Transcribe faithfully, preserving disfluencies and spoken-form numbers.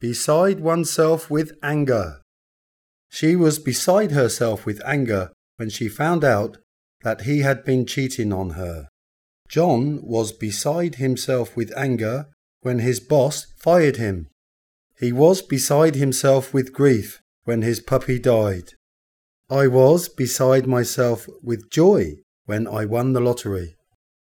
beside oneself with anger. She was beside herself with anger when she found out that he had been cheating on her. John was beside himself with anger when his boss fired him. He was beside himself with grief when his puppy died. I was beside myself with joy when I won the lottery.